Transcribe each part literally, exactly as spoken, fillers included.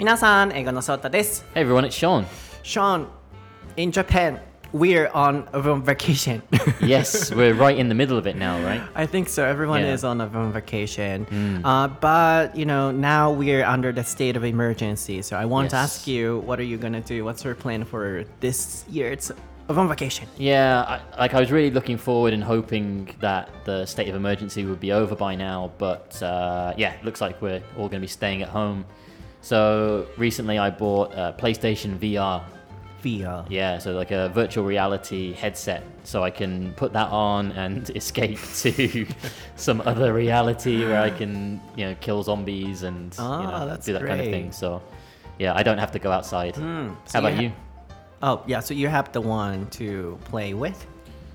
皆さん、英語のソータです。 Hey everyone, it's Sean. Sean, in Japan, we're on a vacation. Yes, we're right in the middle of it now, right? I think so. Everyone Yeah. is on a vacation. Mm. Uh, but, you know, now we're under the state of emergency. So I want Yes. to ask you, what are you going to do? What's your plan for this year? It's on vacation. Yeah, I, like I was really looking forward and hoping that the state of emergency would be over by now, but uh, yeah, it looks like we're all going to be staying at home. So recently I bought a PlayStation V R. V R. Yeah, so like a virtual reality headset, so I can put that on and escape to some other reality where I can, you know, kill zombies and oh, you know, that's do that great. kind of thing. So yeah, I don't have to go outside. Mm. So How about you? you? Oh, yeah, so you have the one to play with?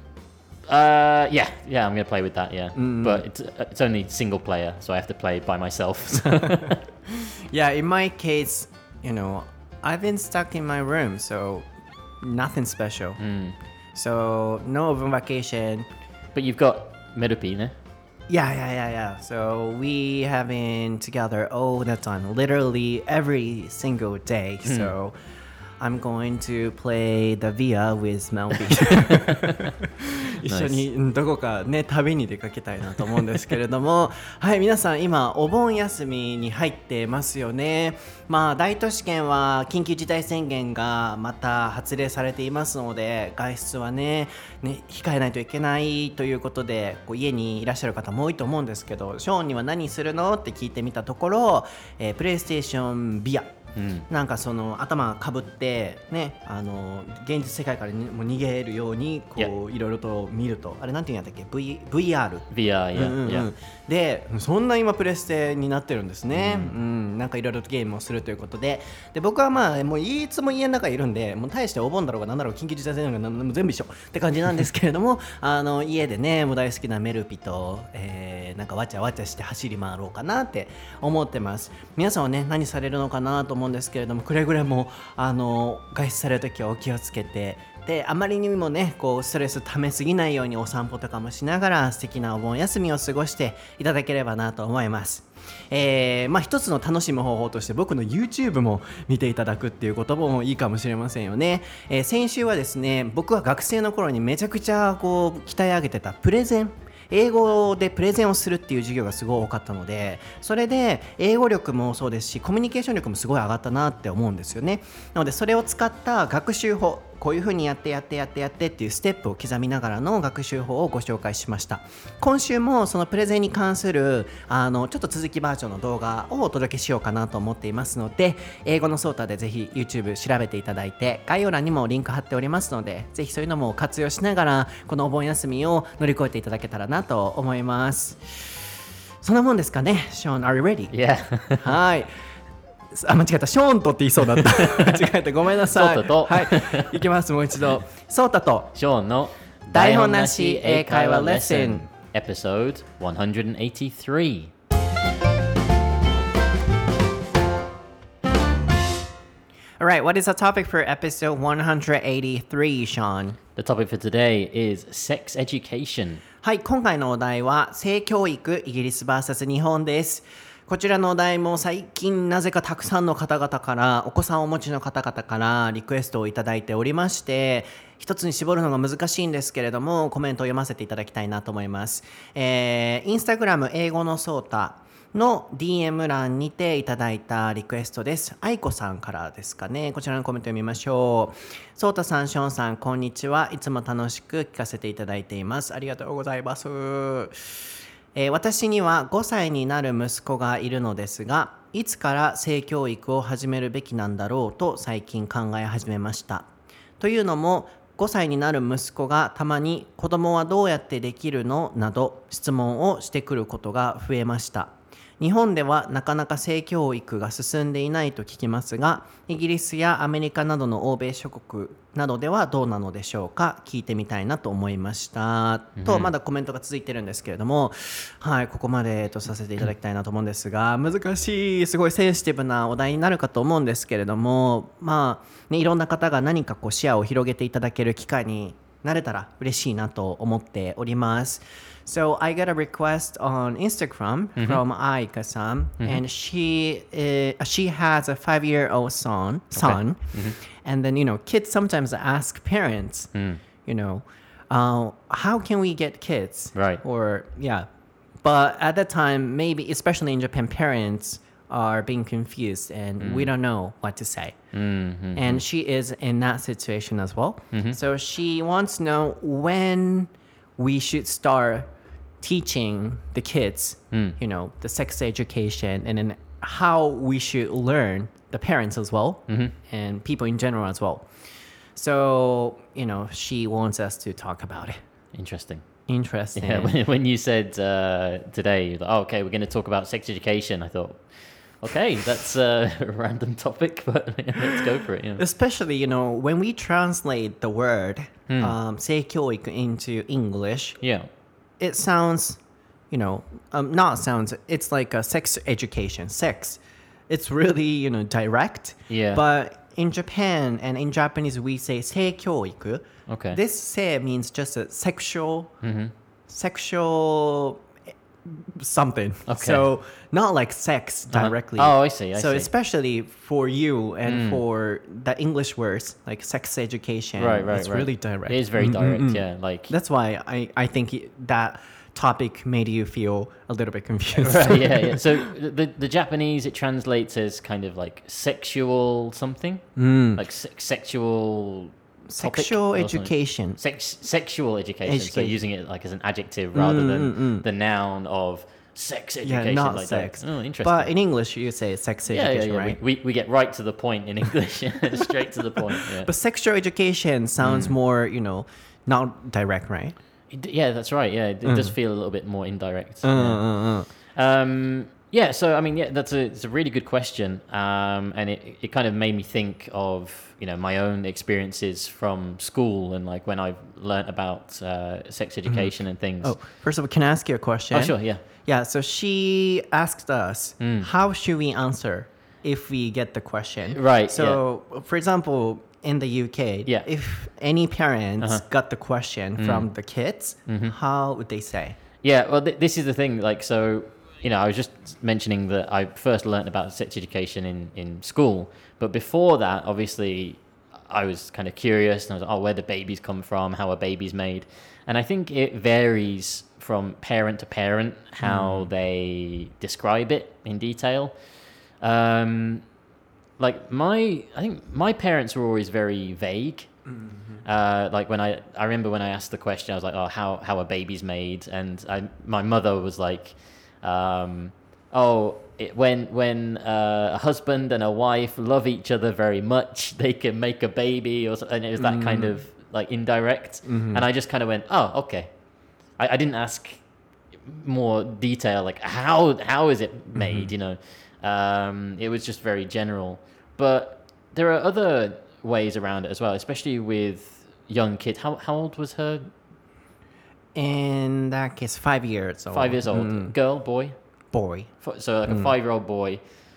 Uh, yeah, yeah, I'm gonna play with that, yeah. Mm. But it's it's only single player, so I have to play by myself. Yeah, in my case, you know, I've been stuck in my room, so nothing special. Mm. So no open vacation. But you've got Merupi, ne? Yeah, yeah, yeah, yeah. So we have been together all the time, literally every single day. Mm. So I'm going to play the V R with Melby. 一緒にどこかね旅に出かけたいなと思うんですけれどもはい皆さん今お盆休みに入ってますよね。まあ大都市圏は緊急事態宣言がまた発令されていますので外出は ね, ね控えないといけないということでこう家にいらっしゃる方も多いと思うんですけどショーンには何するのって聞いてみたところ、えー、プレイステーションビアうん、なんかその頭かぶってねあの現実世界からにも逃げるようにこういろいろと見るとあれなんていうんだっけ v VR VR、yeah. うんうんうん、でそんな今プレステになってるんですね、うんうん、なんかいろいろとゲームをするということでで僕はまあもういつも家の中にいるんでもう大してお盆だろうがなんだろう緊急事態宣言がも全部一緒って感じなんですけれどもあの家でねもう大好きなメルピと、えー、なんかわちゃわちゃして走り回ろうかなって思ってます。皆さんはね何されるのかなと思うんですけれどもくれぐれもあの外出されるときはお気をつけてであまりにもねこうストレス溜めすぎないようにお散歩とかもしながら素敵なお盆休みを過ごしていただければなと思います。えー、まあ一つの楽しむ方法として僕の YouTube も見ていただくっていうこともいいかもしれませんよね。えー、先週はですね僕は学生の頃にめちゃくちゃこう鍛え上げてたプレゼン英語でプレゼンをするっていう授業がすごい多かったのでそれで英語力もそうですしコミュニケーション力もすごい上がったなって思うんですよね。なのでそれを使った学習法こういう風にやってやってやってやってっていうステップを刻みながらの学習法をご紹介しました。今週もそのプレゼンに関するあのちょっと続きバージョンの動画をお届けしようかなと思っていますので英語のソータでぜひ YouTube 調べていただいて概要欄にもリンク貼っておりますのでぜひそういうのも活用しながらこのお盆休みを乗り越えていただけたらなと思います。そんなもんですかね。Sean, are you ready? Yeah. はいあ、間違えた。ショーンとって言いそうだった。間違えた。ごめんなさい。 ソータと。 はい。いきます。もう一度。ソータと。 ショーンの台本なし英会話レッスン。 Episode one eighty-three. Alright, what is the topic for episode one eighty-three, Sean? The topic for today is sex education. はい、今回のお題は性教育イギリス ブイエス 日本です。こちらのお題も最近なぜかたくさんの方々からお子さんをお持ちの方々からリクエストをいただいておりまして一つに絞るのが難しいんですけれどもコメントを読ませていただきたいなと思います。えー、インスタグラム英語のソータの ディーエム 欄にていただいたリクエストです。愛子さんからですかね。こちらのコメントを読みましょう。ソータさん、ショーンさん、こんにちは。いつも楽しく聞かせていただいています。ありがとうございます。えー、私にはごさいになる息子がいるのですが、いつから性教育を始めるべきなんだろうと最近考え始めました。というのも、ごさいになる息子がたまに子供はどうやってできるのなど質問をしてくることが増えました。日本ではなかなか性教育が進んでいないと聞きますが、イギリスやアメリカなどの欧米諸国などではどうなのでしょうか。聞いてみたいなと思いました、うん、とまだコメントが続いてるんですけれども、はい、ここまでとさせていただきたいなと思うんですが、難しいすごいセンシティブなお題になるかと思うんですけれども、まあね、いろんな方が何かこう視野を広げていただける機会になれたら嬉しいなと思っております。So I got a request on Instagram from Aika-san, and she uh, she has a five-year-old son, son, and then you know kids sometimes ask parents, you know, uh, how can we get kids, Right. Or yeah, but at that time, maybe especially in Japan, parents are being confused and we don't know what to say. Mm-hmm. And she is in that situation as well. So she wants to know when we should start teaching the kids, you know, the sex education, and then how we should learn, the parents as well, and people in general as well. So, you know, she wants us to talk about it. Interesting. Interesting. Yeah, when, when you said uh, today, like, oh, okay, we're going to talk about sex education, I thought, okay, that's a random topic, but let's go for it. Yeah. Especially, you know, when we translate the word um, 性教育 into English, Yeah. it sounds, you know, um, not sounds, it's like a sex education, sex. It's really, you know, direct. Yeah. But in Japan and in Japanese, we say 性教育. Okay. This 性 means just a sexual, sexual something. Okay. So not like sex directly. Uh-huh. Oh, I see, I so see. especially for you and for the English words like sex education, Right, right, it's right. really direct. It is very direct, yeah. Like That's why I, I think it- that topic made you feel a little bit confused. right, yeah, yeah. So the the Japanese, it translates as kind of like sexual something, like se- sexual topic Sexual or something. education. Sex, sexual education. So Education. using it like as an adjective rather than the noun of sex education. Yeah, not like sex. That. Oh, interesting. But in English, you say sex yeah, yeah, education, yeah. right? We, we we get right to the point in English, straight to the point. Yeah. But sexual education sounds more, you know, not direct, right? It d- yeah, that's right. Yeah, it, it does feel a little bit more indirect. Uh, yeah. uh, uh. Um, yeah, so I mean, yeah, that's a it's a really good question, um, and it it kind of made me think of you know my own experiences from school and like when I've learnt about uh, sex education and things. Oh, first of all, can I ask you a question? Oh, sure, yeah. Yeah, so she asked us, how should we answer if we get the question? Right, So, for example, in the U K, Yeah. if any parents Uh-huh. got the question from the kids, how would they say? Yeah, well, th- this is the thing. Like, so, you know, I was just mentioning that I first learnt about sex education in, in school. But before that, obviously, I was kind of curious. And I was like, oh, where do babies come from? How are babies made? And I think it varies from parent to parent how they describe it in detail. Um, like, my, I think my parents were always very vague. Uh, like when I, I remember when I asked the question, I was like, "Oh, how how are babies made?" And I, my mother was like, um, "Oh, it, when when uh, a husband and a wife love each other very much, they can make a baby," or so, and it was that kind of like indirect. And I just kind of went, "Oh, okay." I, I didn't ask more detail, like how how is it made? You know, um, it was just very general. But there are other ways around it as well, especially with young kids. How how old was her? In that case, five years old. Five years old. Girl, boy. Boy. F- So like a five-year-old boy.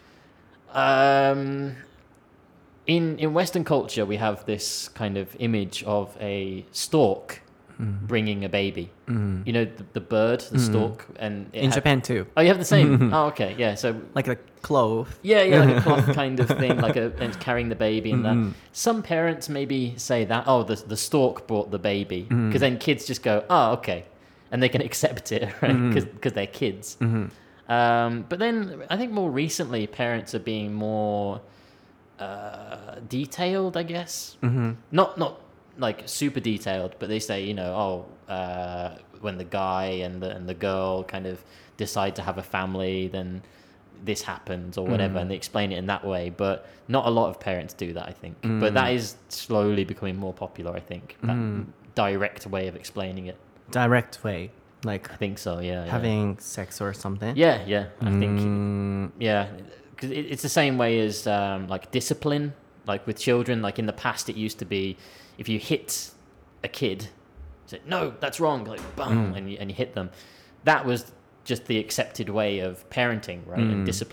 Um, in in Western culture, we have this kind of image of a stork bringing a baby. You know, the, the bird, the stork, and it In had- Japan too. Oh, you have the same. Oh, okay, yeah. So Like a clove. yeah, yeah, like a cloth kind of thing, like a and carrying the baby and that. Some parents maybe say that, oh, the the stork brought the baby, because then kids just go, oh, okay, and they can accept it, right? Because they're kids. Um, but then I think more recently, parents are being more uh, detailed, I guess. Not not like super detailed, but they say, you know, oh, uh, when the guy and the and the girl kind of decide to have a family, then this happens or whatever, and they explain it in that way. But not a lot of parents do that, I think. But that is slowly becoming more popular, I think. That direct way of explaining it. Direct way. Like I think so. Yeah. having sex or something. Yeah. Yeah. yeah I think. Mm, Yeah, because it, it's the same way as um, like discipline. Like with children, like in the past, it used to be if you hit a kid, say no, that's wrong, like bang, and you and you hit them. That was just the accepted way of parenting, right, and discipline.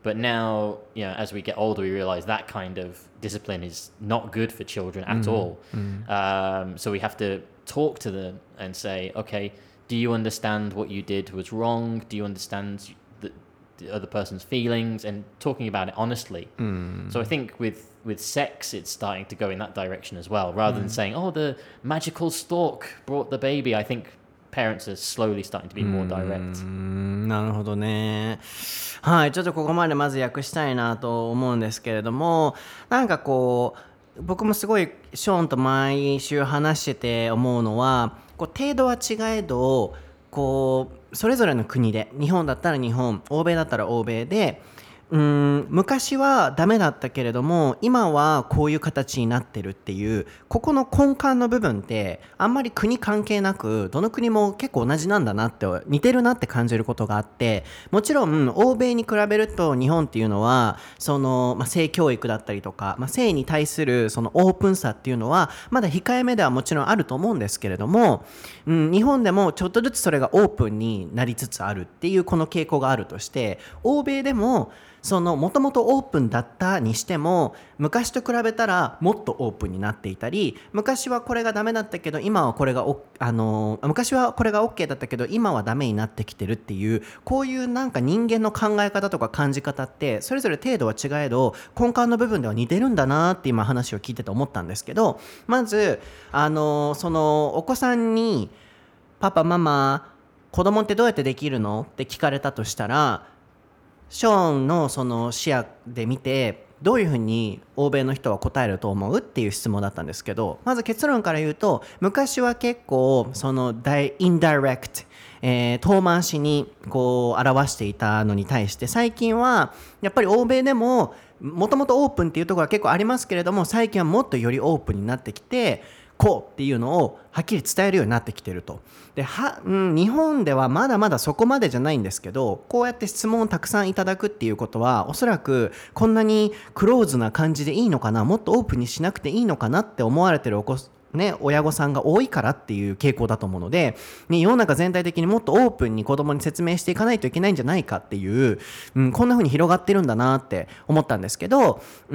But now, you know, as we get older, we realize that kind of discipline is not good for children at mm. all. Mm. Um, so we have to talk to them and say, okay, do you understand what you did was wrong? Do you understand the, the other person's feelings? And talking about it honestly. Mm. So I think with, with sex, it's starting to go in that direction as well. Rather mm. than saying, oh, the magical stork brought the baby. I think parents are slowly starting to be more direct. なるほどね。はい、ちょっとここまでまず訳したいなと思うんですけれども、なんかこう僕もすごいショーンと毎週話してて思うのは、こう程度は違えど、こうそれぞれの国で、日本だったら日本、欧米だったら欧米で。うーん昔はダメだったけれども今はこういう形になってるっていうここの根幹の部分ってあんまり国関係なくどの国も結構同じなんだなって似てるなって感じることがあってもちろん欧米に比べると日本っていうのはその、まあ、性教育だったりとか、まあ、性に対するそのオープンさっていうのはまだ控えめではもちろんあると思うんですけれども、うん、日本でもちょっとずつそれがオープンになりつつあるっていうこの傾向があるとして欧米でもそのもともとオープンだったにしても昔と比べたらもっとオープンになっていたり昔はこれがダメだったけど今はこれがおあの昔はこれが OK だったけど今はダメになってきてるっていうこういうなんか人間の考え方とか感じ方ってそれぞれ程度は違えど根幹の部分では似てるんだなって今話を聞いてて思ったんですけどまずあのそのお子さんにパパママ子供ってどうやってできるのって聞かれたとしたらショーンのその視野で見てどういうふうに欧米の人は答えると思うっていう質問だったんですけどまず結論から言うと昔は結構そのインダイレクト、えー、遠回しにこう表していたのに対して最近はやっぱり欧米でももともとオープンっていうところが結構ありますけれども最近はもっとよりオープンになってきてこうっていうのをはっきり伝えるようになってきてるとでは、うん、日本ではまだまだそこまでじゃないんですけどこうやって質問をたくさんいただくっていうことはおそらくこんなにクローズな感じでいいのかなもっとオープンにしなくていいのかなって思われてるお子ね、親御さんが多いからっていう傾向だと思うので、ね、世の中全体的にもっとオープンに子供に説明していかないといけないんじゃないかっていう、うん、こんな風に広がってるんだなって思ったんですけど、うん、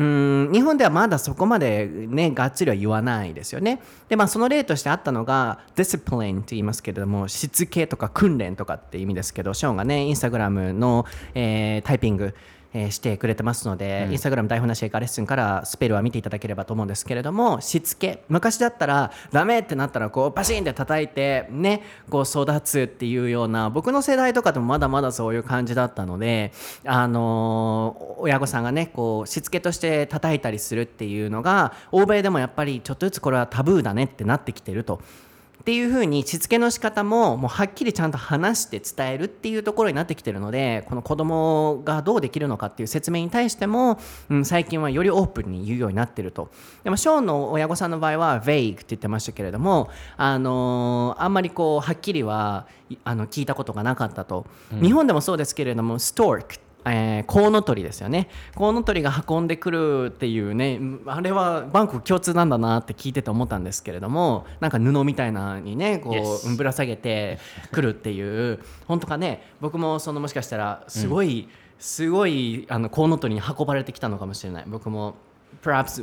日本ではまだそこまでねがっつりは言わないですよね。で、まあその例としてあったのが discipline って言いますけれどもしつけとか訓練とかって意味ですけどショーンがねインスタグラムの、えー、タイピングえー、してくれてますので、うん、インスタグラム台本なし英会話レッスンからスペルは見ていただければと思うんですけれどもしつけ昔だったらダメってなったらこうバシンって叩いてねこう育つっていうような僕の世代とかでもまだまだそういう感じだったのであのー、親御さんがねこうしつけとして叩いたりするっていうのが欧米でもやっぱりちょっとずつこれはタブーだねってなってきてるとっていう風にしつけの仕方ももうはっきりちゃんと話して伝えるっていうところになってきてるのでこの子供がどうできるのかっていう説明に対しても、うん、最近はよりオープンに言うようになってるとでもショーンの親御さんの場合は vague って言ってましたけれどもあのー、あんまりこうはっきりはあの聞いたことがなかったと、うん、日本でもそうですけれども storkえー、コウノトリですよねコウノトリが運んでくるっていうねあれはバンコク共通なんだなって聞いてて思ったんですけれどもなんか布みたいなのにねこう、yes. ぶら下げてくるっていう本当かね僕もそのもしかしたらすごい、うん、すごいあのコウノトリに運ばれてきたのかもしれない僕も perhaps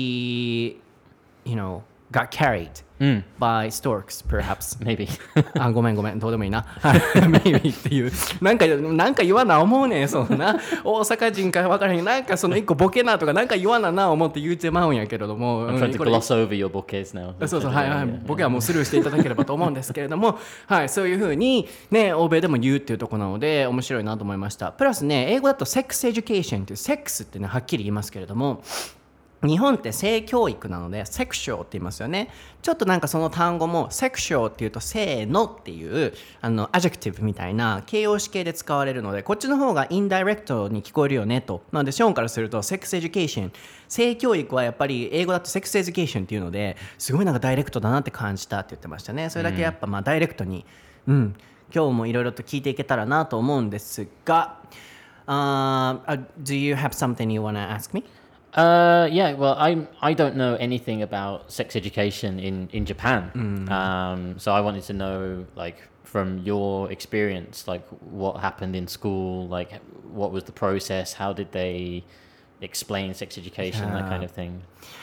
we you know got carried、mm. by storks perhaps maybe あごめんごめんどうでもいいなmaybe っていうなんかなんか言わな思うねそんな大阪人か分からへんなんかその一個ボケなとかなんか言わなな思って言うてまうんやけれども I'm trying to gloss over your bouquets now そうそうはいはいボケはもうスルーしていただければと思うんですけれどもはいそういう風にね欧米でも言うっていうところなので面白いなと思いましたプラスね英語だと sex education っていうセックスってねはっきり言いますけれども日本って性教育なのでセクシュアルって言いますよねちょっとなんかその単語もセクシュアルっていうとせーのっていうあのアジェクティブみたいな形容詞形で使われるのでこっちの方がインダイレクトに聞こえるよねとなのでショーンからするとセックスエデュケーション性教育はやっぱり英語だとセックスエデュケーションっていうのですごいなんかダイレクトだなって感じたって言ってましたねそれだけやっぱまあダイレクトにうん今日もいろいろと聞いていけたらなと思うんですが、uh, Do you have something you want to ask me? Uh, yeah, well, I I don't know anything about sex education in, in Japan. Mm. Um, so I wanted to know, like, from your experience, like, what happened in school, like, what was the process? How did they explain sex education, that Yeah. kind of thing?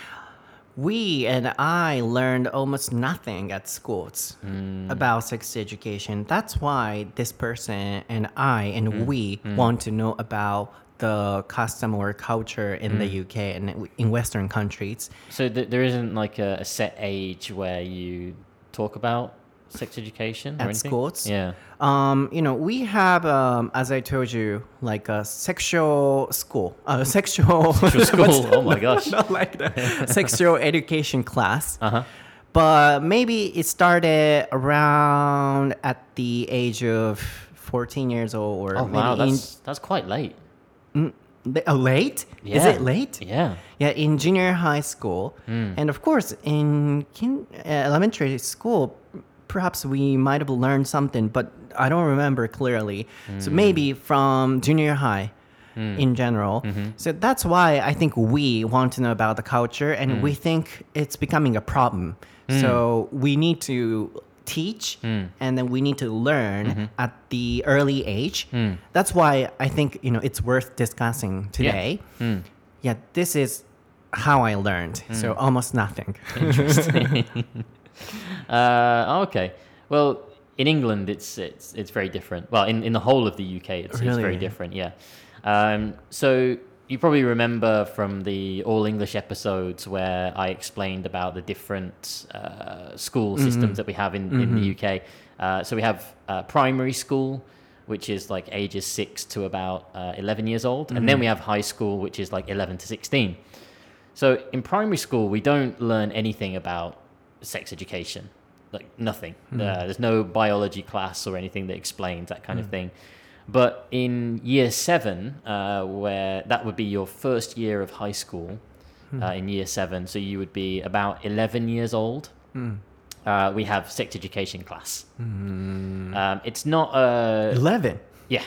We and I learned almost nothing at schools about sex education. That's why this person and I and we want to know about the custom or culture in the U K and in Western countries. So th- there isn't like a, a set age where you talk about sex education or At anything? schools? Yeah. Um, you know, we have, um, as I told you, like a sexual school, uh, sexual, Sexual school. Oh my gosh. not like that, sexual education class. Uh-huh. But maybe it started around at the age of fourteen years old, or Oh maybe wow, in that's that's quite late. uh, late. Is Yeah. it late? Yeah. Yeah, in junior high school, and of course in kin- uh, elementary school, perhaps we might have learned something, but I don't remember clearly. So maybe from junior high. In general. So that's why I think we want to know about the culture, and we think it's becoming a problem. So we need to teach and then we need to learn at the early age. That's why I think, you know, it's worth discussing today. Yeah, this is how I learned. So almost nothing. Interesting. uh, okay. Well, in England, it's it's it's very different. Well, in, in the whole of the U K, it's, it's very Really? different. Yeah. Um, so you probably remember from the All English episodes where I explained about the different uh, school systems that we have in, in the U K. Uh, so we have uh, primary school, which is like ages six to about uh, eleven years old, and then we have high school, which is like eleven to sixteen. So in primary school, we don't learn anything about sex education, like nothing. Uh, there's no biology class or anything that explains that kind of thing. But in year seven, uh, where that would be your first year of high school, uh, in year seven, so you would be about eleven years old, uh, we have sex education class. Um, it's not a... eleven. Yeah,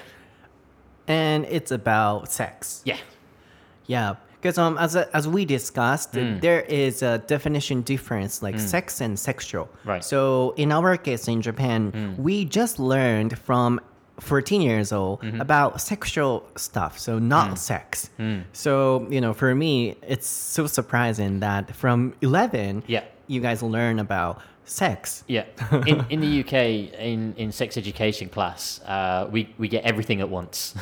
And it's about sex. yeah. Yeah, because um, as as we discussed, there is a definition difference, like sex and sexual. Right. So in our case in Japan, we just learned from fourteen years old about sexual stuff, so not sex. So you know, for me, it's so surprising that from eleven, Yeah. you guys learn about sex. Yeah, in in the U K, in, in sex education class, uh, we we get everything at once,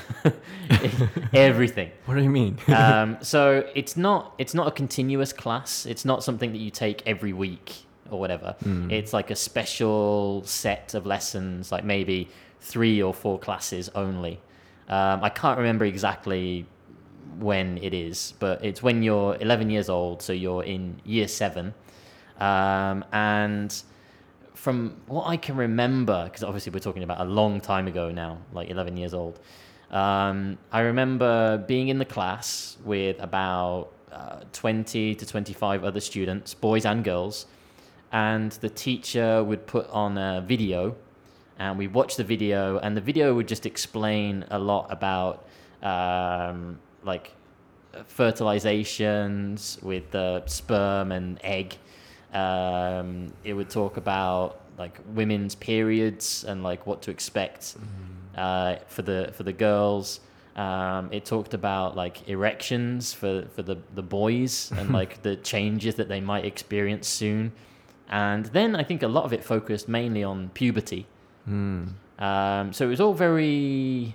everything. What do you mean? Um, so it's not it's not a continuous class. It's not something that you take every week or whatever. It's like a special set of lessons, like maybe three or four classes only. Um, I can't remember exactly when it is, but it's when you're eleven years old, so you're in year seven. Um, and from what I can remember, because obviously we're talking about a long time ago now, like eleven years old, um, I remember being in the class with about uh, twenty to twenty-five other students, boys and girls, and the teacher would put on a video, and we watched the video, and the video would just explain a lot about um, like fertilizations with the sperm and egg. Um, it would talk about like women's periods and like what to expect uh, for the for the girls. Um, it talked about like erections for, for the, the boys and like the changes that they might experience soon. And then I think a lot of it focused mainly on puberty. Mm. Um, so it was all very,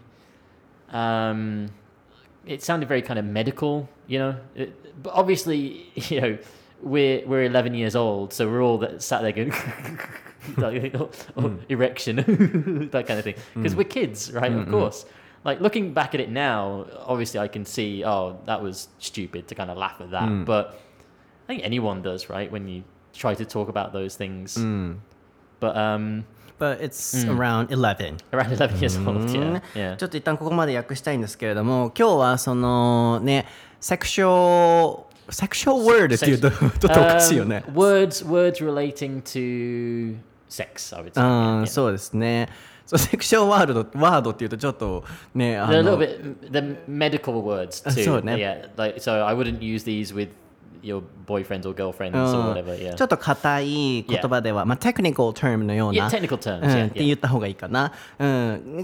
um, it sounded very kind of medical, you know, it, but obviously, you know, we're, we're eleven years old. So we're all that sat there going, like, oh, oh, mm. erection, that kind of thing. Because mm. we're kids, right? Mm-mm. Of course. Like looking back at it now, obviously I can see, oh, that was stupid to kind of laugh at that. Mm. But I think anyone does, right? When you try to talk about those things. Mm. But, um, But it's mm. around eleven. Around eleven years old, yeah. yeah. ちょっと一旦ここまで訳したいんですけれども、今日はそのね、sexual sexual word っていうとちょっとおかしいよね。 Um, words words relating to sex, I would say. ああ、 yeah. そうですね。So sexual word ワードっていうとちょっとね、あの They're a little bit the medical words too. そうね。 Yeah, like so I wouldn't use these with your boyfriends or girlfriends うん or whatever. Yeah. ちょっと硬い言葉では、まあ、テクニカル term のよう Yeah, な、 technical terms. うん Yeah, って言った方がいいかな、うん、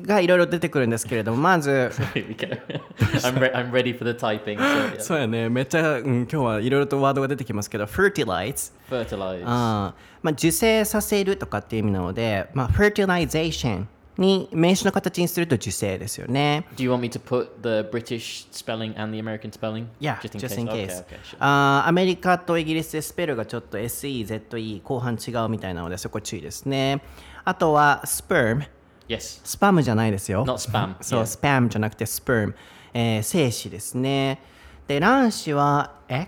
がいろいろ出てくるんですけれども、まず Here we go. I'm, re- I'm ready for the typing. So, yeah. そうやね、めっちゃ、うん、今日はいろいろとワードが出てきますけど fertilize、 Fertilize. あまあ、受精させるとかっていう意味なので、まあ、fertilization に名詞の形にすると受精ですよね。 Do you want me to put the British spelling and the American spelling? Yeah, just in just case. in case. Okay, okay, sure. あーアメリカとイギリスでスペルがちょっと エスイーゼットイー 後半違うみたいなのでそこ注意ですね。あとは sperm、 Yes. スパムじゃないですよ。 Not spam. そう、 Yeah. スパムじゃなくて sperm、えー、精子ですね。で、卵子は egg、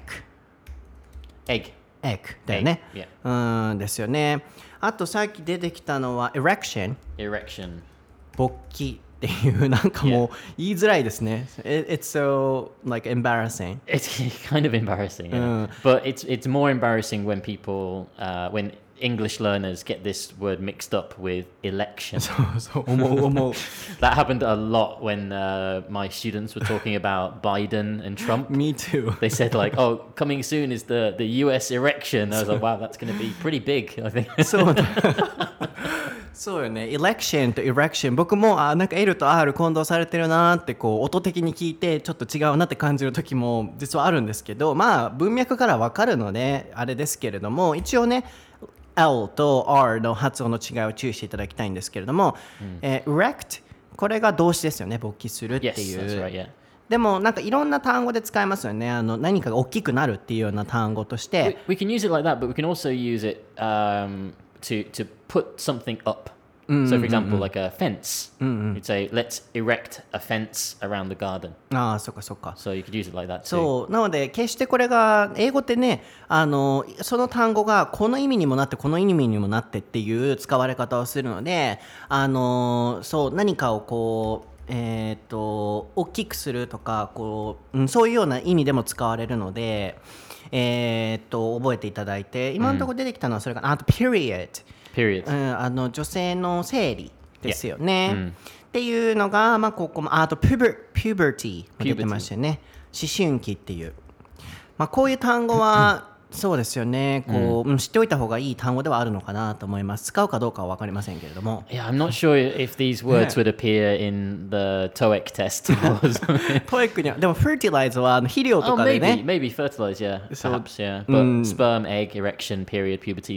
Egg. egg だよね。 Egg, うーんですよね。あとさっき出てきたのは erection、 Erection. 勃起っていうなんかもう言いづらいですね。It, it's so like embarrassing. It's kind of embarrassing, yeah. But it's it's more embarrassing when people, uh, when English learners get this word mixed up with election. そうそう思う思う。 That happened a lot when uh, my students were talking about Biden and Trump. Me too. They said like, "Oh, coming soon is the the U S election." I was like, "Wow, that's going to be pretty big." I think. そうだ。そうよね。election と erection、僕もあなんか L と R 混同されてるなってこう音的に聞いてちょっと違うなって感じる時も実はあるんですけど、まあ文脈からわかるのであれですけれども、一応ね。L と R の発音の違いを注意していただきたいんですけれども、うんえー、erect これが動詞ですよね、勃起するっていう。 Yes, that's right, yeah. でもなんかいろんな単語で使えますよね。あの何かが大きくなるっていうような単語として。 We, we can use it like that, but we can also use it um, to to put something up. So, for example, like a fence. You'd say, "Let's erect a fence around the garden." ああ、そっかそっか。 So you could use it like that too. そうなので決してこれが英語ってね、あのその単語がこの意味にもなってこの意味にもなってっていう使われ方をするので、あのそう何かをこうえっと大きくするとかこう、うん、そういうような意味でも使われるので、えっと覚えていただいて、今のところ出てきたのはそれかな。あと period。Period、うん、あの女性の生理ですよね、yeah. うん、っていうのが、まあ、ここもあと puber puberty も出てましたよね。思春期っていう、まあ、こういう単語はそうですよねこう、うん、知っておいた方がいい単語ではあるのかなと思います。使うかどうかは分かりませんけれども。 Yeah, I'm not sure if these words would appear in theトーイック test. トーイック にはでも fertilize は肥料とかでね。 Oh, maybe, maybe fertilize, yeah, perhaps, yeah. But、うん、sperm, egg, erection, period, puberty,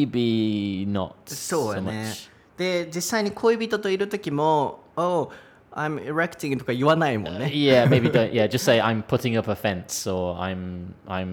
maybe not そうや so ね。 much. で実際に恋人といる時も Oh, I'm erecting とか言わないもんね。 Uh, yeah, maybe don't. Yeah, just say I'm putting up a fence or I'm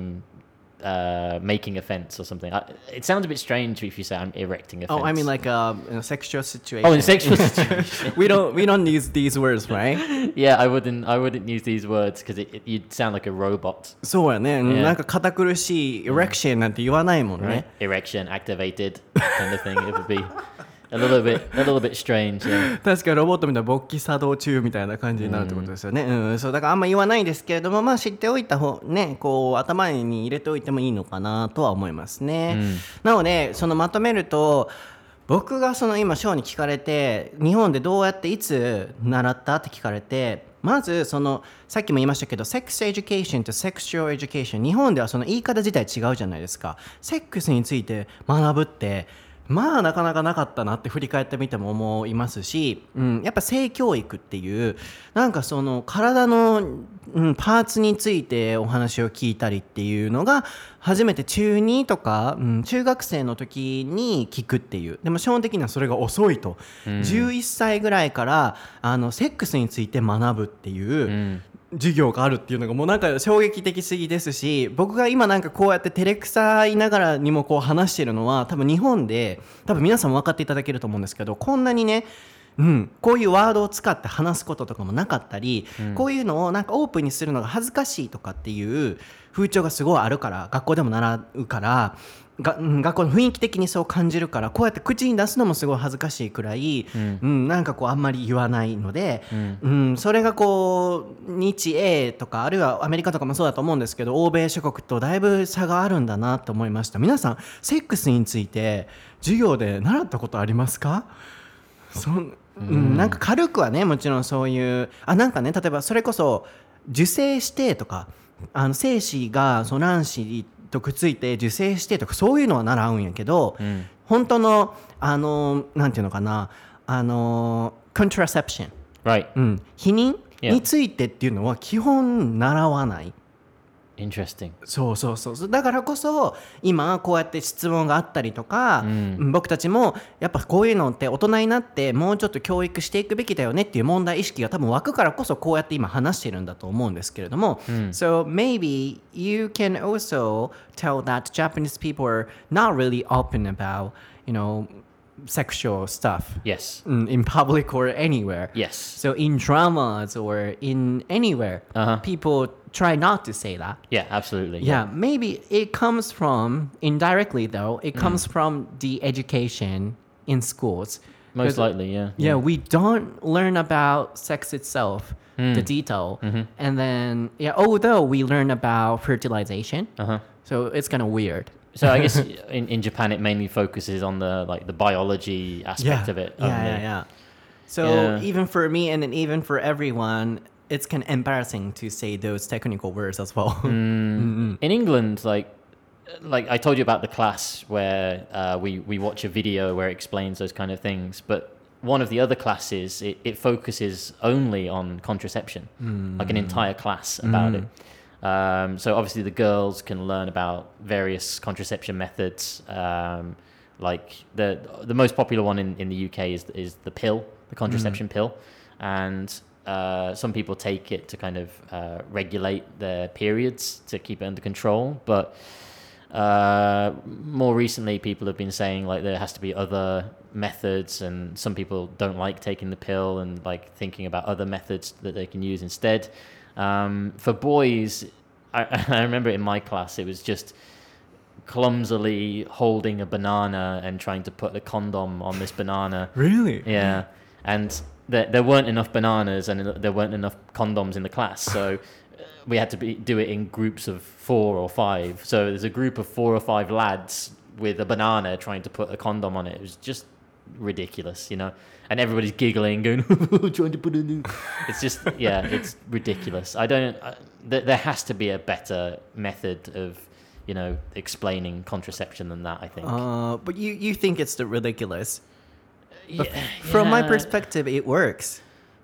I'm.Uh, making a fence or something. I, it sounds a bit strange if you say I'm erecting a fence. Oh, I mean like a, in a sexual situation. Oh, in a sexual situation. we don't we don't use these words, right? Yeah, I wouldn't I wouldn't use these words because it, it, you'd sound like a robot. そうやね。 Yeah. なんか堅苦しい erection なんて言わないもんね。 Right? Erection, activated, kind of thing. It would be.A little bit, a little bit strange. Yeah. 確かにロボットみたいな勃起作動中みたいな感じになるってことですよね。うんうん、そうだからあんま言わないですけれども、まあ知っておいた方ね、こう頭に入れておいてもいいのかなとは思いますね。うん、なのでそのまとめると。僕がその今ショーに聞かれて日本でどうやっていつ習ったって聞かれてまずそのさっきも言いましたけどセックスエデュケーションとセクシュアルエデュケーション日本ではその言い方自体違うじゃないですか。セックスについて学ぶってまあなかなかなかったなって振り返ってみても思いますし、うん、やっぱ性教育っていうなんかその体の、うん、パーツについてお話を聞いたりっていうのが初めて中にとか、うん、中学生の時に聞くっていうでも基本的にはそれが遅いと、うん、じゅういっさいぐらいからあのセックスについて学ぶっていう、うん授業があるっていうのがもうなんか衝撃的すぎですし僕が今なんかこうやって照れくさいながらにもこう話してるのは多分日本で多分皆さんも分かっていただけると思うんですけどこんなにねうん、こういうワードを使って話すこととかもなかったり、うん、こういうのをなんかオープンにするのが恥ずかしいとかっていう風潮がすごいあるから学校でも習うからが、うん、学校の雰囲気的にそう感じるからこうやって口に出すのもすごい恥ずかしいくらい、うんうん、なんかこうあんまり言わないので、うんうん、それがこう日英とかあるいはアメリカとかもそうだと思うんですけど欧米諸国とだいぶ差があるんだなと思いました。皆さんセックスについて授業で習ったことありますか？そんうん、なんか軽くはねもちろんそういうあなんかね例えばそれこそ受精してとかあの精子がその卵子とくっついて受精してとかそういうのは習うんやけど、うん、本当のあのなんていうのかなあの contraception、right. うん、避妊についてっていうのは基本習わない。 Interesting. そうそうそうだからこそ今こうやって質問があったりとか、うん、僕たちもやっぱこういうのって大人になってもうちょっと教育していくべきだよねっていう問題意識が多分湧くからこそこうやって今話してるんだと思うんですけれども、うん、So maybe you can also tell that Japanese people are not really open about, you know, sexual stuff. Yes. In public or anywhere. Yes. So in dramas or in anywhere, uh-huh. people try not to say that. Yeah, absolutely. Yeah, yeah, maybe it comes from, indirectly though, it comes mm. from the education in schools. Most likely, yeah, yeah. Yeah, we don't learn about sex itself, mm. the detail. Mm-hmm. And then, yeah, although we learn about fertilization, uh-huh. so it's kind of weird. So I guess in, in Japan it mainly focuses on the like the biology aspect yeah. of it. Yeah, only. yeah, yeah. So yeah. even for me and then even for everyone, it's kind of embarrassing to say those technical words as well. mm. mm-hmm. In England, like like I told you about the class where uh, we we watch a video where it explains those kind of things, but one of the other classes it, it focuses only on contraception, mm. like an entire class about mm. it. Um, so obviously the girls can learn about various contraception methods. Um, like the the most popular one in, in the U K is is the pill, the contraception mm. pill, and uh, some people take it to kind of uh, regulate their periods to keep it under control. But uh, more recently, people have been saying like there has to be other methods, and some people don't like taking the pill and like thinking about other methods that they can use instead. Um, for boys, I, I remember in my class, it was just clumsily holding a banana and trying to put a condom on this banana. Really? Yeah. And there, there weren't enough bananas and there weren't enough condoms in the class. So we had to be, do it in groups of four or five. So there's a group of four or five lads with a banana trying to put a condom on it. It was just ridiculous, you know, and everybody's giggling, going, trying to put it in. It's just, yeah, it's ridiculous. I don't, uh, th- there has to be a better method of, you know, explaining contraception than that, I think. Uh, but you, you think it's the ridiculous. But yeah, from yeah. my perspective, it works.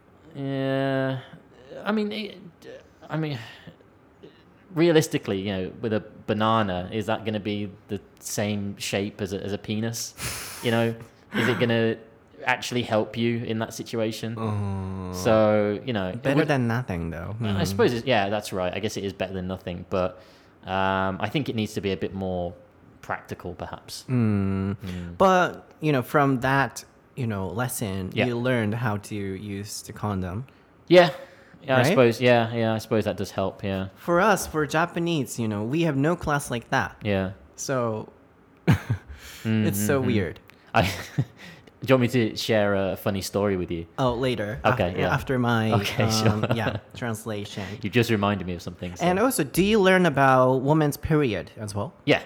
Yeah. I mean, it, I mean, realistically, you know, with a banana, is that going to be the same shape as a, as a penis? You know, is it going to actually help you in that situation? Uh, so, you know, better would, than nothing, though. Mm. I suppose, it's, yeah, that's right. I guess it is better than nothing, but um, I think it needs to be a bit more practical, perhaps. Mm. Mm. But, you know, from that, you know, lesson, yeah. you learned how to use the condom. Yeah. Yeah, right? I suppose, yeah, yeah, I suppose that does help, yeah. For us, for Japanese, you know, we have no class like that. Yeah. So, mm-hmm, it's so mm-hmm. weird. I, do you want me to share a funny story with you? Oh, later. Okay, after, yeah. After my, okay, um, sure. yeah, translation. You just reminded me of something. So. And also, do you learn about women's period as well? Yeah.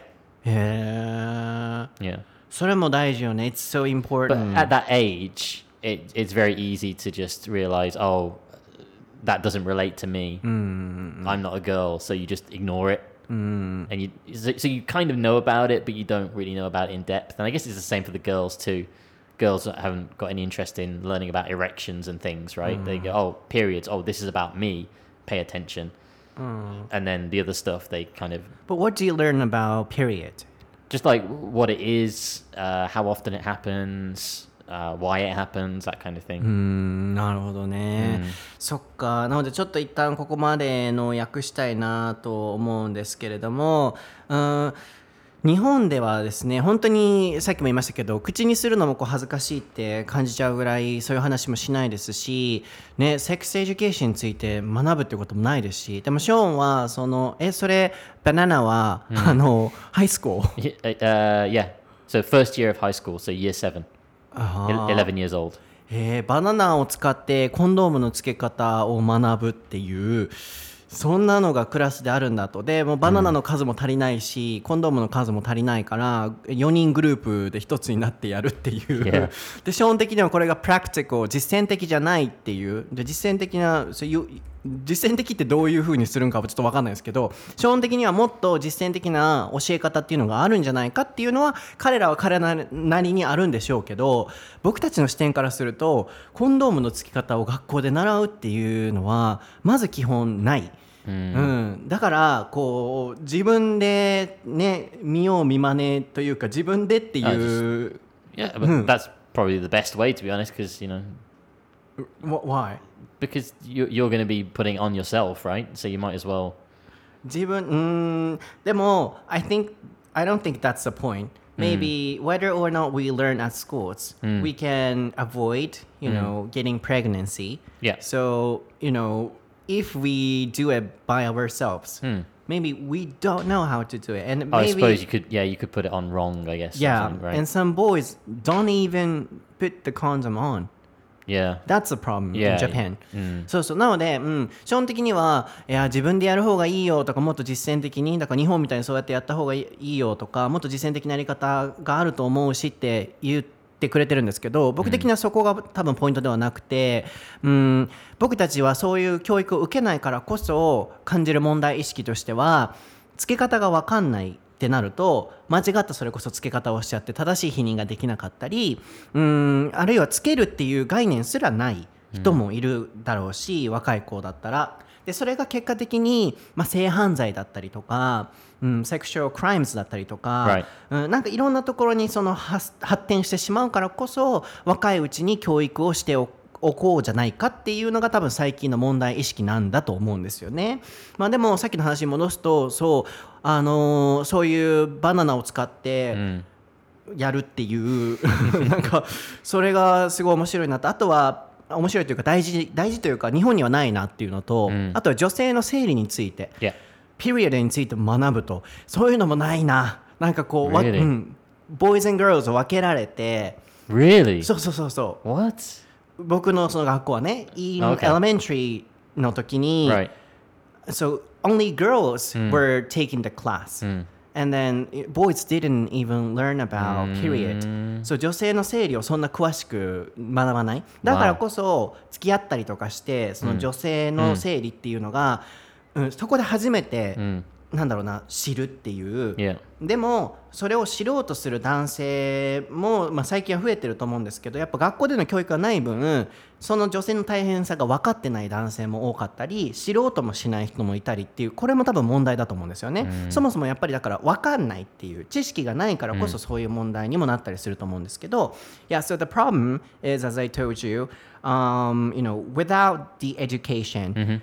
Yeah. Yeah. それも大事よね. It's so important. But at that age, it, it's very easy to just realize, oh, that doesn't relate to me. Mm. I'm not a girl, so you just ignore it. Mm. And you so you kind of know about it, but you don't really know about it in depth. And I guess it's the same for the girls too. Girls that haven't got any interest in learning about erections and things, right? Mm. They go, oh, periods. Oh, this is about me. Pay attention. Mm. And then the other stuff, they kind of... But what do you learn about period? Just like what it is, uh, how often it happens... Uh, why it happens, that kind of thing. うーん、なるほどね、うん、そっか。なのでちょっと一旦ここまでの訳したいなと思うんですけれども、うん、日本ではですね、本当にさっきも言いましたけど、口にするのもこう恥ずかしいって感じちゃうぐらいそういう話もしないですし、ね、セックスエデュケーションについて学ぶってこともないですし、でもショーンはそのえそれバナナは、うん、あのハイスクール、 uh, yeah, so first year of high school, so year seven. eleven years old. えー、バナナを使ってコンドームの付け方を学ぶっていうそんなのがクラスであるんだと。でもうバナナの数も足りないし、うん、コンドームの数も足りないからよにんグループで一つになってやるっていう、yeah. でショーン的にはこれがプラクティカル、実践的じゃないっていう。で実践的な so you 実践的ってどういう風にするんかはちょっと分かんないですけど、基本的にはもっと実践的な教え方っていうのがあるんじゃないかっていうのは彼らは彼らなりにあるんでしょうけど、僕たちの視点からするとコンドームのつき方を学校で習うっていうのはまず基本ない。うん、だからこう自分でね見よう見まねというか自分でっていう、 yeah, but that's probably the best way to be honest, because you know why? Because you, you're going to be putting on yourself, right? So you might as well. 自分、うん、でも I think I don't think that's the point. Maybe whether or not we learn at schools, we can avoid, you know, getting pregnancy. Yeah. So, you know.If we do it by ourselves, hmm. maybe we don't know how to do it, and maybe, I suppose you could, yeah, you could put it on wrong, I guess. Yeah, right? And some boys don't even put the condom on. Yeah, that's a problem yeah, in Japan. Yeah. そうそうなので、うん、基本的にはいや自分でやる方がいいよとかもっと実践的にだから日本みたいにそうやってやった方がいいよとかもっと実践的なやり方があると思うしって言っててくれてるんですけど、僕的にはそこが多分ポイントではなくて、うん、僕たちはそういう教育を受けないからこそ感じる問題意識としてはつけ方が分かんないってなると間違ったそれこそつけ方をしちゃって正しい避妊ができなかったり、うん、あるいはつけるっていう概念すらない人もいるだろうし、うん、若い子だったらでそれが結果的に、まあ、性犯罪だったりとか、うん、セクシュアルクライムズだったりとか、right. うん、なんかいろんなところにその発展してしまうからこそ若いうちに教育をしておこうじゃないかっていうのが多分最近の問題意識なんだと思うんですよね。まあ、でもさっきの話に戻すとそう、あのー、そういうバナナを使ってやるっていう、うん、なんかそれがすごい面白いなと。あとは面白いというか大事大事というか日本にはないなっていうのと、うん、あとは女性の生理について、 yeah. ピリオドについて学ぶとそういうのもないな。なんかこう、 really? うん、ボーイズ&ガールズを分けられて Really? そうそうそうそう What? 僕のその学校はね in okay. elementary の時に、 right. So only girls、うん、were taking the class、うん、and then boys didn't even learn about period、そう女性の生理をそんな詳しく学ばない。だからこそ付き合ったりとかしてその女性の生理っていうのが、うんうん、そこで初めて、うん、なんだろうな知るっていう、 yeah. でもそれを知ろうとする男性も、まあ、最近は増えてると思うんですけどやっぱ学校での教育がない分その女性の大変さが分かってない男性も多かったり知ろうともしない人もいたりっていうこれも多分問題だと思うんですよね、うん、そもそもやっぱりだから分かんないっていう知識がないからこそそういう問題にもなったりすると思うんですけど、うん、Yeah, so the problem is as I told you、um, you know, without the education、mm-hmm.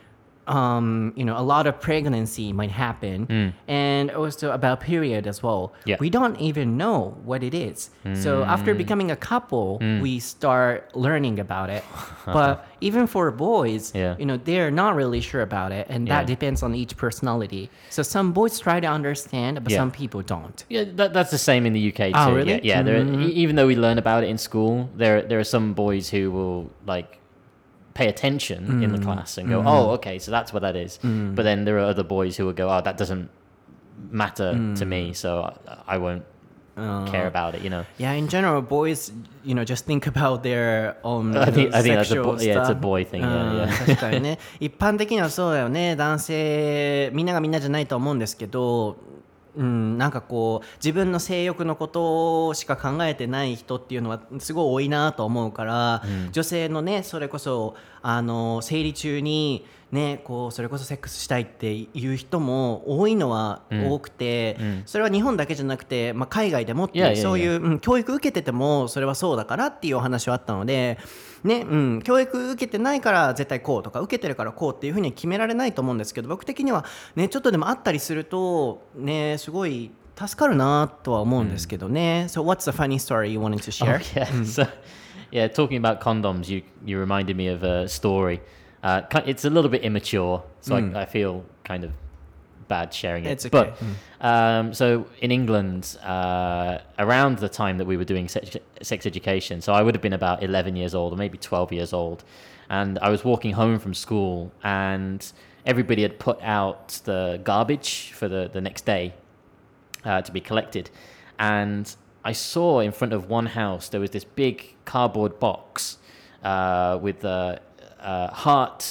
Um, you know, a lot of pregnancy might happen, mm. and also about period as well. Yeah. We don't even know what it is. Mm. So after becoming a couple, mm. we start learning about it. But even for boys, yeah. you know, they're not really sure about it, and that yeah. depends on each personality. So some boys try to understand, but yeah. some people don't. Yeah, that, that's the same in the U K too. Oh, really? Yeah, yeah mm-hmm. there, even though we learn about it in school, there there are some boys who will like.pay attention mm. in the class and go, mm. oh, okay, so that's what that is. Mm. But then there are other boys who will go, oh, that doesn't matter mm. to me, so I, I won't uh, care about it, you know. Yeah, in general, boys, you know, just think about their own I think, I think that's sexual a, bo- yeah, it's a boy thing. Yeah, yeah. 確かにね。一般的にはそうだよね。男性、みんながみんなじゃないと思うんですけど、うん、なんかこう自分の性欲のことしか考えてない人っていうのはすごい多いなと思うから、うん、女性のねそれこそあの生理中にねこうそれこそセックスしたいっていう人も多いのは多くて、うんうん、それは日本だけじゃなくて、まあ、海外でもってそういう、うん、教育受けててもそれはそうだからっていうお話はあったのでねうん、教育受けてないから絶対こうとか受けてるからこうっていうふうに決められないと思うんですけど僕的にはねちょっとでもあったりするとねすごい助かるなとは思うんですけどね、mm. So what's the funny story you wanted to share? Oh, yeah. Mm. So, yeah, talking about condoms, you you reminded me of a story. Uh, it's a little bit immature, so mm. I, I feel kind of bad sharing it. It's okay. But mm. um, so in England, uh, around the time that we were doing sex, sex education, so I would have been about eleven years old or maybe twelve years old, and I was walking home from school, and everybody had put out the garbage for the, the next day uh, to be collected, and I saw in front of one house there was this big cardboard box uh, with a, a heart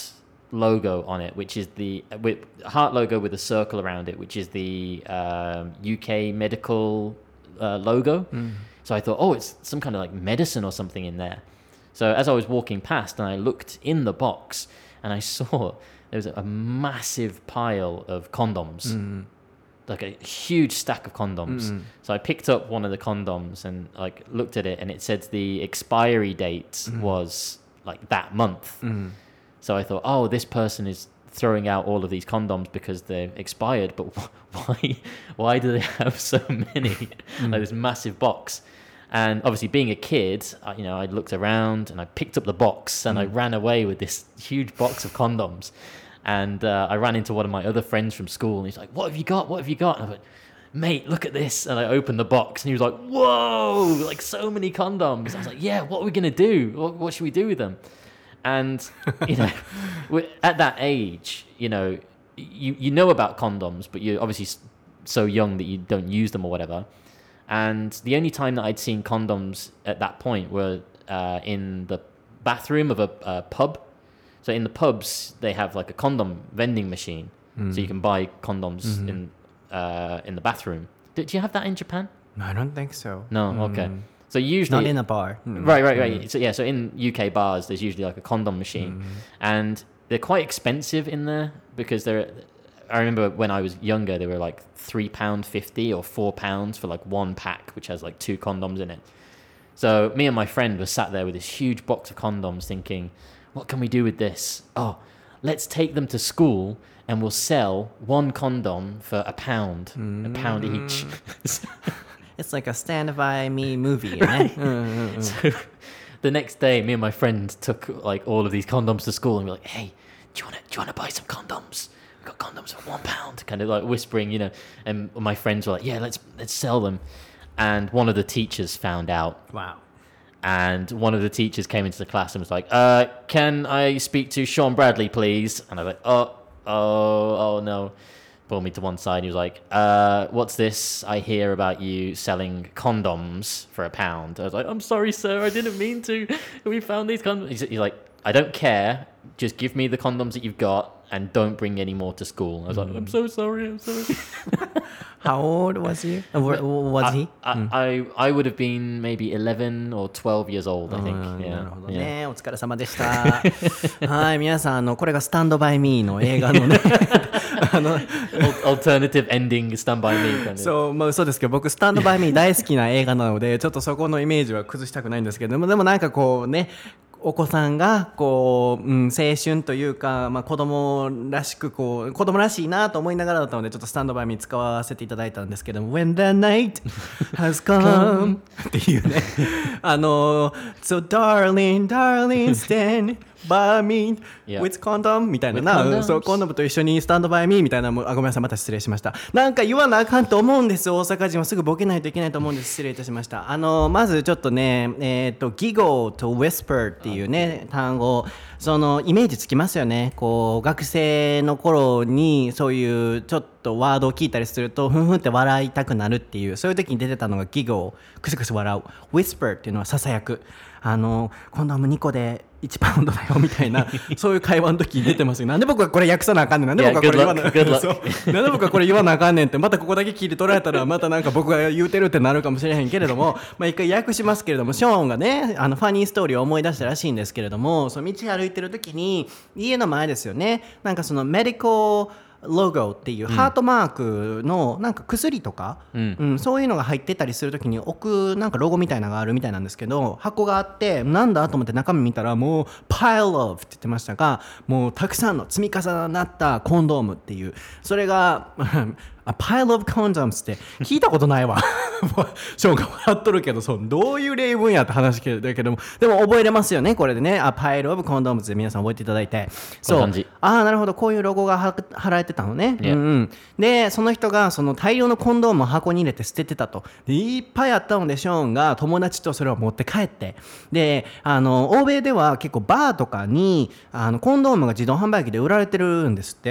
logo on it, which is the with heart logo with a circle around it, which is the um, U K medical uh, logo. Mm. So I thought, oh, it's some kind of like medicine or something in there. So as I was walking past and I looked in the box and I saw there was a massive pile of condoms, mm. like a huge stack of condoms. Mm. So I picked up one of the condoms and like looked at it, and it said the expiry date mm. was like that month. Mm. So I thought, oh, this person is throwing out all of these condoms because they're expired, but why why do they have so many? Mm. Like this massive box. And obviously being a kid, I, you know, I looked around and I picked up the box and mm. I ran away with this huge box of condoms. And uh, I ran into one of my other friends from school and he's like, what have you got? What have you got? And I went, mate, look at this. And I opened the box and he was like, whoa, like so many condoms. I was like, yeah, what are we going to do? What, what should we do with them? And, you know, at that age, you know, you, you know about condoms, but you're obviously so young that you don't use them or whatever. And the only time that I'd seen condoms at that point were uh, in the bathroom of a, a pub. So in the pubs, they have like a condom vending machine. Mm. So you can buy condoms mm-hmm. in uh, in the bathroom. Do, do you have that in Japan? No, I don't think so. No, mm. okay. So usually... Not in a bar. Mm. Right, right, right. Mm. So yeah, so in U K bars, there's usually like a condom machine. Mm. And they're quite expensive in there because they're... I remember when I was younger, they were like three pounds fifty or four pounds for like one pack, which has like two condoms in it. So me and my friend were sat there with this huge box of condoms thinking, what can we do with this? Oh, let's take them to school and we'll sell one condom for a pound, mm. a pound each. It's like a Stand By Me movie, right? So the next day, me and my friend took like all of these condoms to school and we were like, hey, do you want to do you want to buy some condoms? We've got condoms for one pound, kind of like whispering, you know. And my friends were like, yeah, let's let's sell them. And one of the teachers found out. Wow. And one of the teachers came into the class and was like, uh, can I speak to Sean Bradley, please? And I was like, oh, oh, oh, no. Pulled me to one side. He was like, uh, what's this? I hear about you selling condoms for a pound. I was like, I'm sorry, sir. I didn't mean to. We found these condoms. He's, he's like, I don't care. Just give me the condoms that you've got and don't bring any more to school. I was like, I'm so sorry. I'm sorry. How old was he? Uh, was I, he? I, mm. I, I would have been maybe eleven or twelve years old, I think. Yeah. なるほどね。お疲れ様でした。はい、皆さん、あの、これがスタンドバイミーの映画のね。あの Alternative ending Stand By Me 感じ。 そう、まあ嘘ですけど、僕スタンドバイミー大好きな映画なので、ちょっとそこのイメージは崩したくないんですけど、でもでもなんかこうね、お子さんがこう、うん、青春というか、まあ、子供らしくこう子供らしいなと思いながらだったのでちょっとスタンドバイミー使わせていただいたんですけども When the night has come っていうねあの So darling darling stand by me with condom みたいななそうコンドームと一緒にスタンドバイミーみたいなもあごめんなさいまた失礼しましたなんか言わなあかんと思うんです大阪人はすぐボケないといけないと思うんです失礼いたしましたあのまずちょっとねえっ、ー、と Giggle と Whisper っていうね単語そのイメージつきますよねこう学生の頃にそういうちょっとワードを聞いたりするとふんふんって笑いたくなるっていうそういう時に出てたのが Giggle クスクス笑う Whisper っていうのはささやくあのコンドームにこでいちパウンドだよみたいなそういう会話の時に出てますよなんで僕はこれ訳さなあかんねんなんで僕はこれ言わなあかんねんそうなんで僕はこれ言わなあかんねんってまたここだけ切り取られたらまたなんか僕が言うてるってなるかもしれへんけれどもまあ一回訳しますけれどもショーンがねあのファニーストーリーを思い出したらしいんですけれどもその道歩いてる時に家の前ですよねなんかそのメディコロゴっていうハートマークのなんか薬とか、うんうん、そういうのが入ってたりするときに置くなんかロゴみたいなのがあるみたいなんですけど箱があってなんだと思って中身見たらもう pile of って言ってましたがもうたくさんの積み重なったコンドームっていうそれがA pile of condoms って聞いたことないわショーンが笑っとるけどそうどういう例文やって話だけどもでも覚えれますよねこれでね A pile of condoms で皆さん覚えていただいてそうああなるほどこういうロゴが貼られてたのね、yeah. うんうん、でその人がその大量のコンドームを箱に入れて捨ててたとでいっぱいあったのでショーンが友達とそれを持って帰ってであの欧米では結構バーとかにあのコンドームが自動販売機で売られてるんですって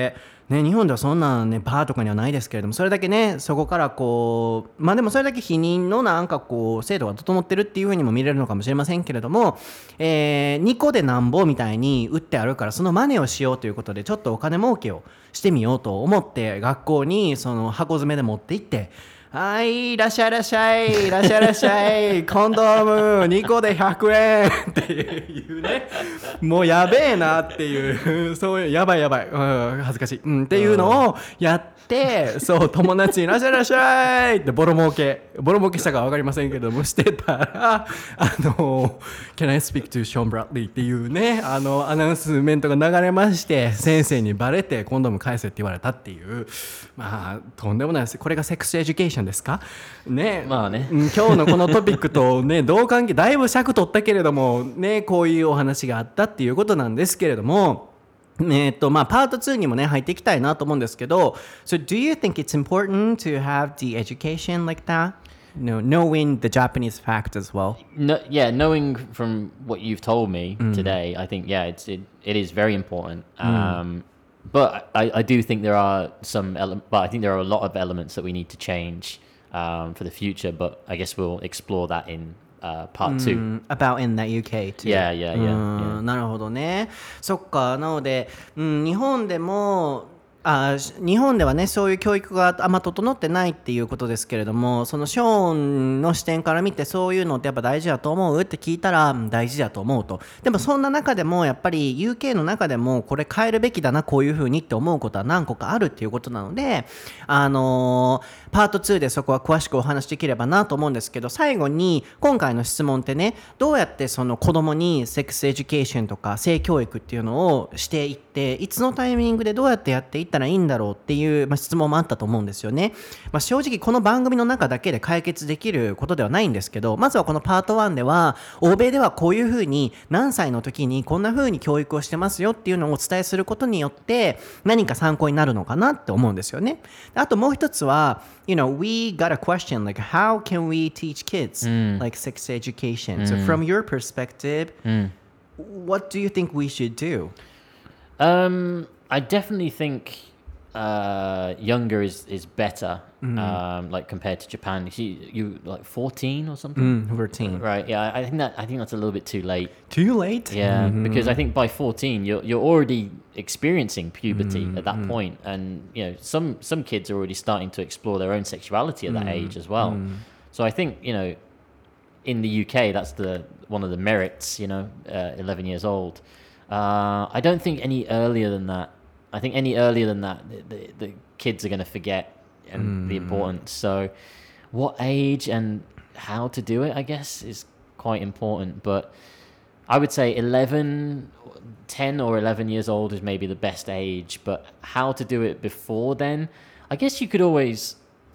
ね、日本ではそんなねバーとかにはないですけれども、それだけねそこからこうまあでもそれだけ避妊のなんかこう制度が整ってるっていう風にも見れるのかもしれませんけれども、えー、にこでなんぼみたいに売ってあるからその真似をしようということでちょっとお金儲けをしてみようと思って学校にその箱詰めで持って行って、はい、いらっしゃいいらっしゃいいらっしゃいいらっしゃいコンドームにこでひゃくえんっていうね、もうやべえなっていうそういうやばいやばい、うん、恥ずかしい、うん、っていうのをやってそう友達にいらっしゃいいらっしゃいってボロ儲けボロ儲けしたか分かりませんけどもしてたら、あの Can I speak to Sean Bradley っていうねあのアナウンスメントが流れまして、先生にバレてコンドーム返せって言われたっていう、まあとんでもないです。これがセックスエデュケーションですかね。 まあね、 うん、今日のこのトピックとねどう関係、だいぶ尺取ったけれどもね、こういうお話があったっていうことなんですけれども、えーとまあ、パートツーにもね入っていきたいなと思うんですけど、 So do you think it's important to have the education like that? No, knowing the Japanese fact as well. No, yeah, knowing from what you've told me today, I think yeah, it's it, it is very important. Um, but I, I do think there are some, ele- but I think there are a lot of elements that we need to change um, for the future. But I guess we'll explore that in uh, part two. Mm, about in the ユーケーtoo. Yeah, yeah, yeah, う yeah. ん、なるほどね。そっか。なので、うん、日本でもあ日本ではねそういう教育があんま整ってないっていうことですけれども、そのショーンの視点から見てそういうのってやっぱ大事だと思うって聞いたら、うん大事だと思うと。でもそんな中でもやっぱり ユーケー の中でもこれ変えるべきだなこういう風にって思うことは何個かあるっていうことなので、あのー、パートツーでそこは詳しくお話しできればなと思うんですけど、最後に今回の質問ってね、どうやってその子供にセックスエデュケーションとか性教育っていうのをしていって、いつのタイミングでどうやってやっていったらいいんだろうっていう、まあ、質問もあったと思うんですよね。まあ、正直この番組の中だけで解決できることではないんですけど、まずはこのパートワンでは欧米ではこういうふうに何歳の時にこんなふうに教育をしてますよっていうのをお伝えすることによって何か参考になるのかなって思うんですよね。あともう一つは You know, we got a question like how can we teach kids、mm. like sex education、mm. So from your perspective、mm. what do you think we should do? Um, I definitely think uh, younger is, is better, mm. um, like compared to Japan. You, see, you like fourteen or something? Mm, fourteen. Right. Yeah. I think that I think that's a little bit too late. Too late? Yeah, mm-hmm. because I think by fourteen you're you're already experiencing puberty mm-hmm. at that point, and you know some some kids are already starting to explore their own sexuality at that mm-hmm. age as well. Mm-hmm. So I think you know, in the U K that's the one of the merits. You know, uh, eleven years old. Uh, I don't think any earlier than that. I think any earlier than that, the, the, the kids are going to forget and mm. the importance. So, what age and how to do it, I guess, is quite important. But I would say eleven, ten or eleven years old is maybe the best age. But how to do it before then, I guess you could always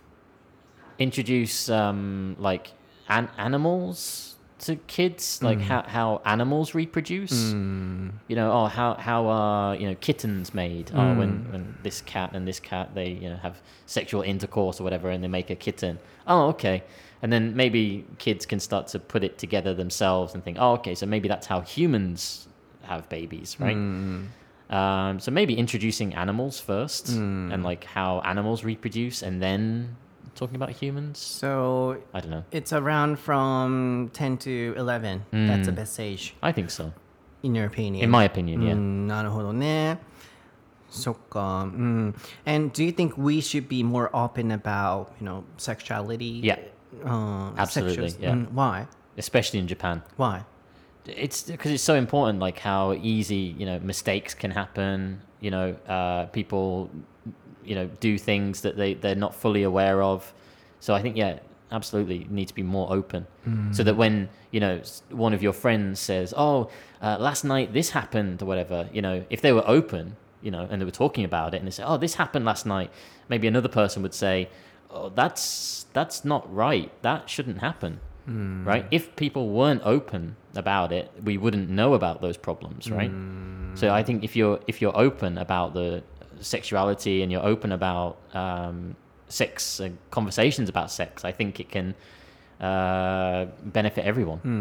introduce um, like an- animals to kids, like mm. how, how animals reproduce. Mm. You know, oh, how how are you know kittens made? Mm. Oh, when when this cat and this cat they you know have sexual intercourse or whatever, and they make a kitten. Oh, okay. And then maybe kids can start to put it together themselves and think, oh, okay, so maybe that's how humans have babies, right? Mm. Um, so maybe introducing animals first mm. and like how animals reproduce, and then talking about humans. So I don't know. It's around from ten to eleven. Mm. That's the best age. I think so. In your opinion? In my opinion, yeah. なるほどね。そっか。うん。And do you think we should be more open about, you know, sexuality? Yeah. Uh, Absolutely. Sexuals? Yeah. Mm, why? Especially in Japan. Why? It's because it's so important, like how easy, you know, mistakes can happen. You know, uh, people, you know, do things that they, they're not fully aware of. So I think, yeah, absolutely need to be more open. Mm. So that when, you know, one of your friends says, oh, uh, last night this happened or whatever, you know, if they were open, you know, and they were talking about it and they say, oh, this happened last night, maybe another person would say, oh, that's that's not right. That shouldn't happen. Mm. Right? If people weren't open about it, we wouldn't know about those problems, right? Mm. So I think if you're if you're open about the sexuality and you're open about um, sex and conversations about sex, I think it can uh, benefit everyone. うん、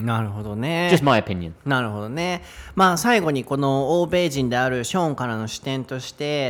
なるほどね。 Just my opinion. なるほどね。まあ最後にこの欧米人であるショーンからの視点として、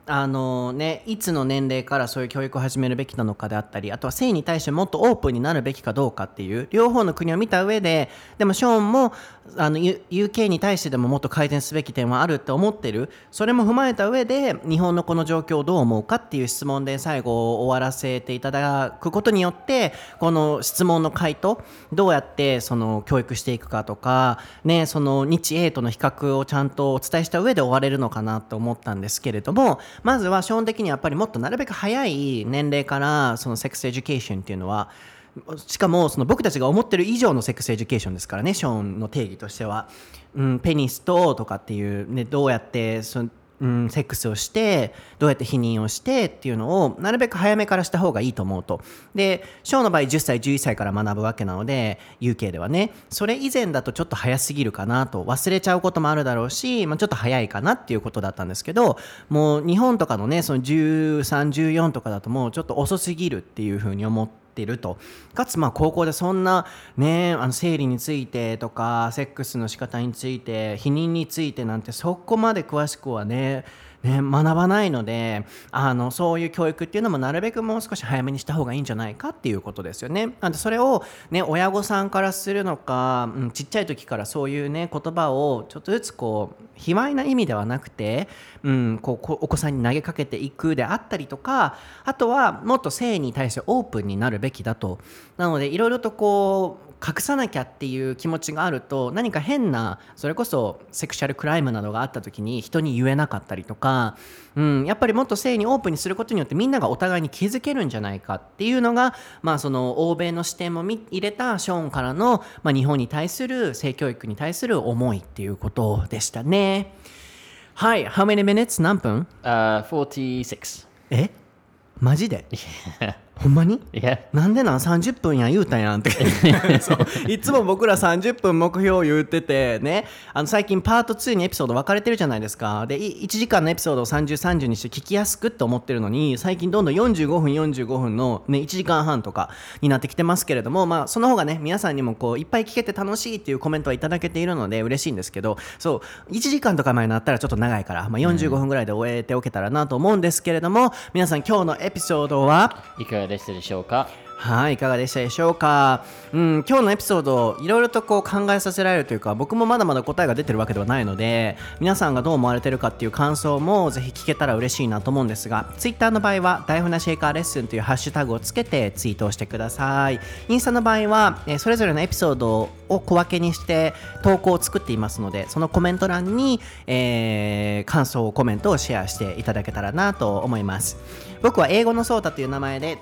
あのね、いつの年齢からそういう教育を始めるべきなのかであったり、あとは性に対してもっとオープンになるべきかどうかっていう両方の国を見た上で、でもショーンもあの ユーケー に対してでももっと改善すべき点はあるって思ってる、それも踏まえた上で日本のこの状況をどう思うかっていう質問で最後終わらせていただくことによって、この質問の回答どうやってその教育していくかとかね、その日英との比較をちゃんとお伝えした上で終われるのかなと思ったんですけれども、まずは基本的にやっぱりもっとなるべく早い年齢からそのセックスエデュケーションっていうのは、しかもその僕たちが思ってる以上のセックスエデュケーションですからね、ショーンの定義としては、うん、ペニスととかっていう、ね、どうやってそのうん、セックスをしてどうやって避妊をしてっていうのをなるべく早めからした方がいいと思うと。でショーの場合じゅっさいじゅういっさいから学ぶわけなので ユーケー ではね、それ以前だとちょっと早すぎるかなと、忘れちゃうこともあるだろうし、まあ、ちょっと早いかなっていうことだったんですけど、もう日本とかのねそのじゅうさん、じゅうよんとかだともうちょっと遅すぎるっていうふうに思っていると。かつまあ高校でそんなね、あの生理についてとかセックスの仕方について避妊についてなんてそこまで詳しくはねね、学ばないので、あのそういう教育っていうのもなるべくもう少し早めにした方がいいんじゃないかっていうことですよね。なんでそれを、ね、親御さんからするのか、うん、ちっちゃい時からそういうね言葉をちょっとずつこう卑猥な意味ではなくて、うん、こうお子さんに投げかけていくであったりとか、あとはもっと性に対してオープンになるべきだと。なのでいろいろとこう隠さなきゃっていう気持ちがあると、何か変なそれこそセクシャルクライムなどがあった時に人に言えなかったりとか、うん、やっぱりもっと性にオープンにすることによってみんながお互いに気づけるんじゃないかっていうのが、まあ、その欧米の視点も入れたショーンからの、まあ、日本に対する性教育に対する思いっていうことでしたね。はい、How many minutes? 何分？ Uh, forty-six. えマジでほんまに Yeah. なんでなんさんじゅっぷんや言うたやんってそういつも僕らさんじゅっぷん目標言っててね、あの最近パートツーにエピソード分かれてるじゃないですか。でいちじかんのエピソードをさんじゅう、さんじゅうにして聞きやすくって思ってるのに、最近どんどんよんじゅうごふんよんじゅうごふんの、ね、いちじかんはんとかになってきてますけれども、まあその方がね皆さんにもこういっぱい聞けて楽しいっていうコメントはいただけているので嬉しいんですけど、そういちじかんとか前になったらちょっと長いから、まあ、よんじゅうごふんぐらいで終えておけたらなと思うんですけれども、皆さん今日のエピソードはいかがでしたでしょうか？ はい、いかがでしたでしょうか。うん、今日のエピソードいろいろとこう考えさせられるというか、僕もまだまだ答えが出てるわけではないので、皆さんがどう思われてるかっていう感想もぜひ聞けたら嬉しいなと思うんですが、ツイッターの場合は台本なシェイカーレッスンというハッシュタグをつけてツイートをしてください。インスタの場合は、えー、それぞれのエピソードを小分けにして投稿を作っていますので、そのコメント欄に、えー、感想コメントをシェアしていただけたらなと思います。僕は英語のソータという名前で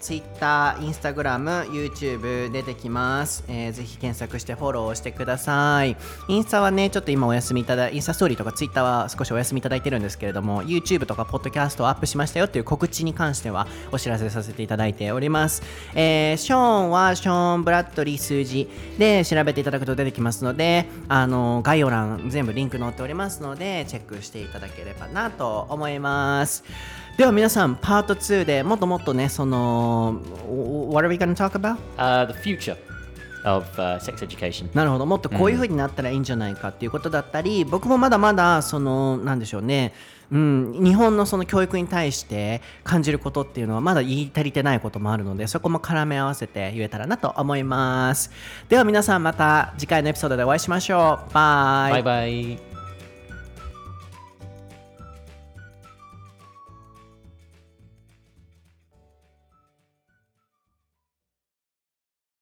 Twitter、Instagram、YouTube 出てきます、えー、ぜひ検索してフォローしてください。インスタはねちょっと今お休みいただインスタストーリーとか Twitter は少しお休みいただいてるんですけれども、 YouTube とか Podcast をアップしましたよっていう告知に関してはお知らせさせていただいております。えー、ショーンはショーン・ブラッドリー数字で調べていただくと出てきますので、あの概要欄全部リンク載っておりますのでチェックしていただければなと思います。では皆さんパートツーでもっともっとねその What are we gonna talk about? Uh, the future of、uh, sex education. なるほど、もっとこういう風になったらいいんじゃないかっていうことだったり、うん、僕もまだまだそのなんでしょうね、うん、日本のその教育に対して感じることっていうのはまだ言い足りてないこともあるので、そこも絡め合わせて言えたらなと思います。では皆さんまた次回のエピソードでお会いしましょう。バイバイバイ。